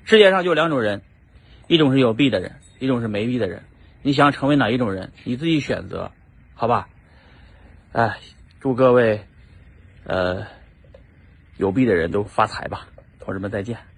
世界上就两种人，一种是有币的人，一种是没币的人。你想成为哪一种人，你自己选择，好吧？哎，祝各位有币的人都发财吧，同志们再见。